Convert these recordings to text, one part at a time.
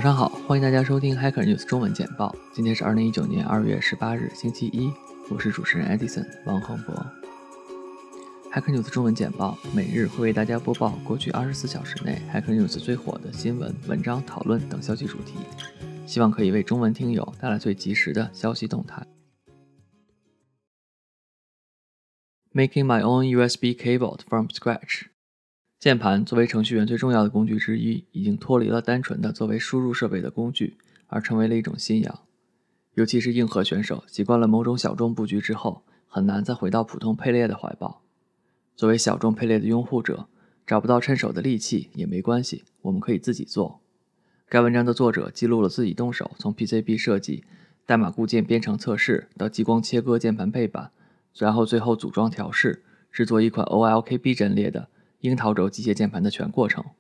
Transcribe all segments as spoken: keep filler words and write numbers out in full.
早上好，欢迎大家收听 Hacker News 中文简报。今天是二零一九年二月十八日，星期一，我是主持人 Edison 王恒博。Hacker News 中文简报每日会为大家播报过去二十四小时内 Hacker News 最火的新闻、文章、讨论等消息主题，希望可以为中文听友带来最及时的消息动态。Making my own U S B keyboard from scratch。键盘作为程序员最重要的工具之一，已经脱离了单纯的作为输入设备的工具，而成为了一种信仰。尤其是硬核选手，习惯了某种小众布局之后，很难再回到普通配列的怀抱。作为小众配列的拥护者，找不到趁手的利器也没关系，我们可以自己做。该文章的作者记录了自己动手从 P C B 设计、代码固件编程测试到激光切割键盘配板，然后最后组装调试，制作一款 O L K B 阵列的樱桃轴机械键盘的全过程。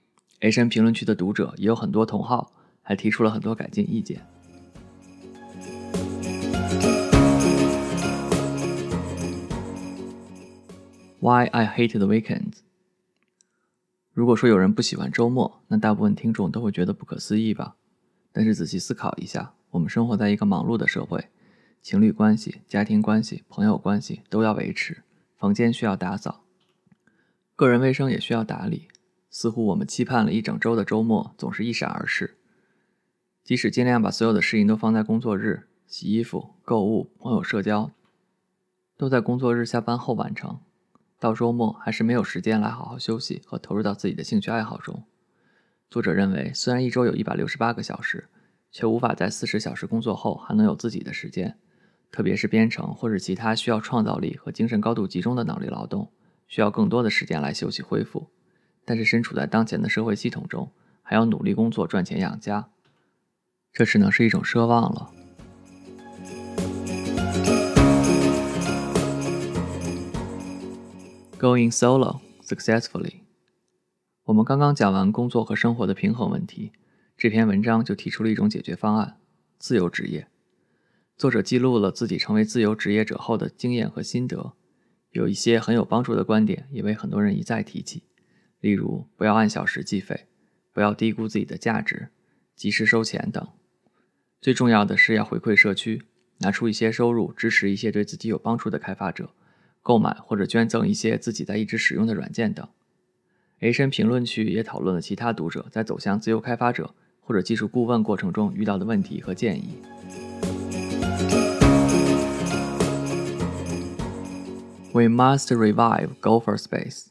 A 深评论区的读者也有很多同好，还提出了很多改进意见。Why I hate the weekends。 如果说有人不喜欢周末，那大部分听众都会觉得不可思议吧。但是仔细思考一下，我们生活在一个忙碌的社会，情侣关系、家庭关系、朋友关系都要维持，房间需要打扫，个人卫生也需要打理，似乎我们期盼了一整周的周末总是一闪而逝。即使尽量把所有的事情都放在工作日，洗衣服、购物、朋友社交都在工作日下班后完成，到周末还是没有时间来好好休息和投入到自己的兴趣爱好中。作者认为，虽然一周有一百六十八个小时，却无法在四十小时工作后还能有自己的时间，特别是编程或者其他需要创造力和精神高度集中的脑力劳动，需要更多的时间来休息恢复。但是身处在当前的社会系统中，还要努力工作赚钱养家，这只能是一种奢望了。Going solo successfully。 我们刚刚讲完工作和生活的平衡问题，这篇文章就提出了一种解决方案：自由职业。作者记录了自己成为自由职业者后的经验和心得，有一些很有帮助的观点也为很多人一再提起，例如不要按小时计费，不要低估自己的价值，及时收钱等。最重要的是要回馈社区，拿出一些收入支持一些对自己有帮助的开发者，购买或者捐赠一些自己在一直使用的软件等。A 深评论区也讨论了其他读者在走向自由开发者或者技术顾问过程中遇到的问题和建议。We must revive Gopher Space。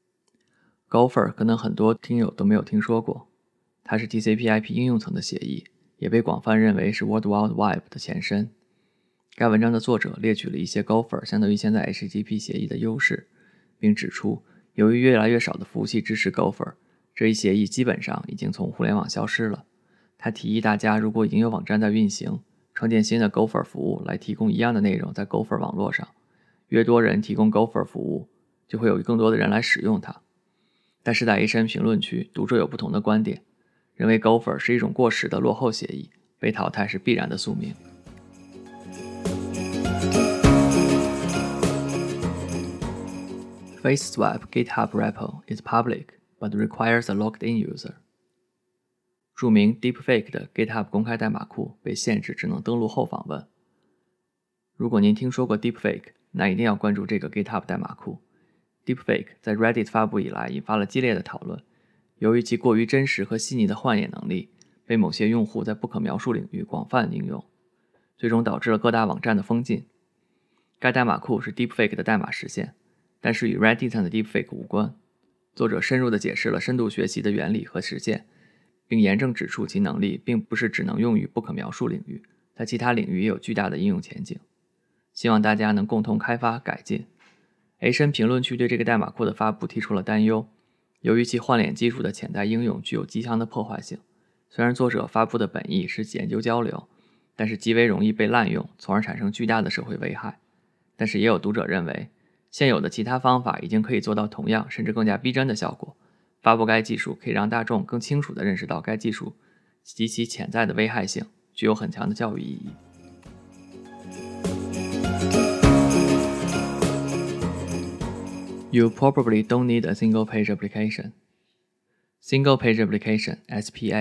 Gopher 可能很多听友都没有听说过，它是 T C P I P 应用层的协议，也被广泛认为是 World Wide Web 的前身。该文章的作者列举了一些 Gopher 相对于现在 H T T P 协议的优势，并指出由于越来越少的服务器支持 Gopher， 这一协议基本上已经从互联网消失了。他提议大家如果已经有网站在运行，创建新的 Gopher 服务来提供一样的内容在 Gopher 网络上，越多人提供 Gopher 服务，就会有更多的人来使用它。但是在 A 深评论区，读者有不同的观点，认为 Gopher 是一种过时的落后协议，被淘汰是必然的宿命。FaceSwap GitHub repo is public, but requires a logged-in user。 著名 Deepfake 的 GitHub 公开代码库被限制只能登录后访问。如果您听说过 Deepfake， 那一定要关注这个 GitHub 代码库。Deepfake 在 Reddit 发布以来引发了激烈的讨论，由于其过于真实和细腻的幻野能力，被某些用户在不可描述领域广泛应用，最终导致了各大网站的封禁。该代码库是 Deepfake 的代码实现，但是与 Reddit 上的 Deepfake 无关。作者深入地解释了深度学习的原理和实现，并严正指出其能力并不是只能用于不可描述领域，在其他领域也有巨大的应用前景。希望大家能共同开发改进。A 深评论区对这个代码库的发布提出了担忧，由于其换脸技术的潜在应用具有极强的破坏性。虽然作者发布的本意是研究交流，但是极为容易被滥用，从而产生巨大的社会危害。但是也有读者认为，现有的其他方法已经可以做到同样甚至更加逼真的效果，发布该技术可以让大众更清楚地认识到该技术及其潜在的危害性，具有很强的教育意义。You probably don't need a single-page application. Single-page application S P A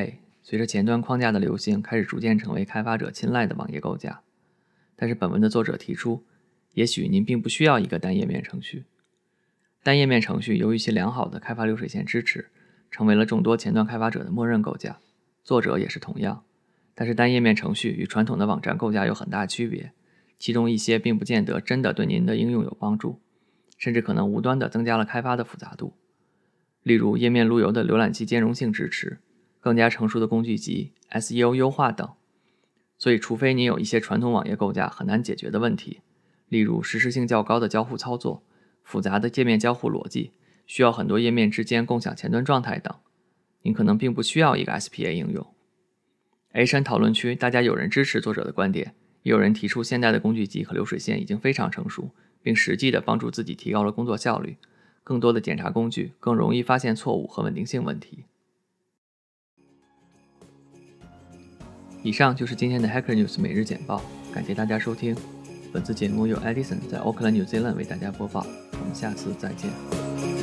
随着前端框架的流行，开始逐渐成为开发者青睐的网页构架。但是本文的作者提出，也许您并不需要一个单页面程序。单页面程序由于其良好的开发流水线支持，成为了众多前端开发者的默认构架，作者也是同样。但是单页面程序与传统的网站构架有很大区别，其中一些并不见得真的对您的应用有帮助，甚至可能无端地增加了开发的复杂度。例如页面路由的浏览器兼容性支持、更加成熟的工具集、S E O 优化等。所以除非你有一些传统网页构架很难解决的问题，例如实时性较高的交互操作、复杂的界面交互逻辑，需要很多页面之间共享前端状态等，您可能并不需要一个 S P A 应用。H 三讨论区大家有人支持作者的观点，也有人提出现代的工具集和流水线已经非常成熟，并实际地帮助自己提高了工作效率，更多的检查工具更容易发现错误和稳定性问题。以上就是今天的 Hacker News 每日简报，感谢大家收听。本次节目由 Edison 在 Auckland New Zealand 为大家播报，我们下次再见。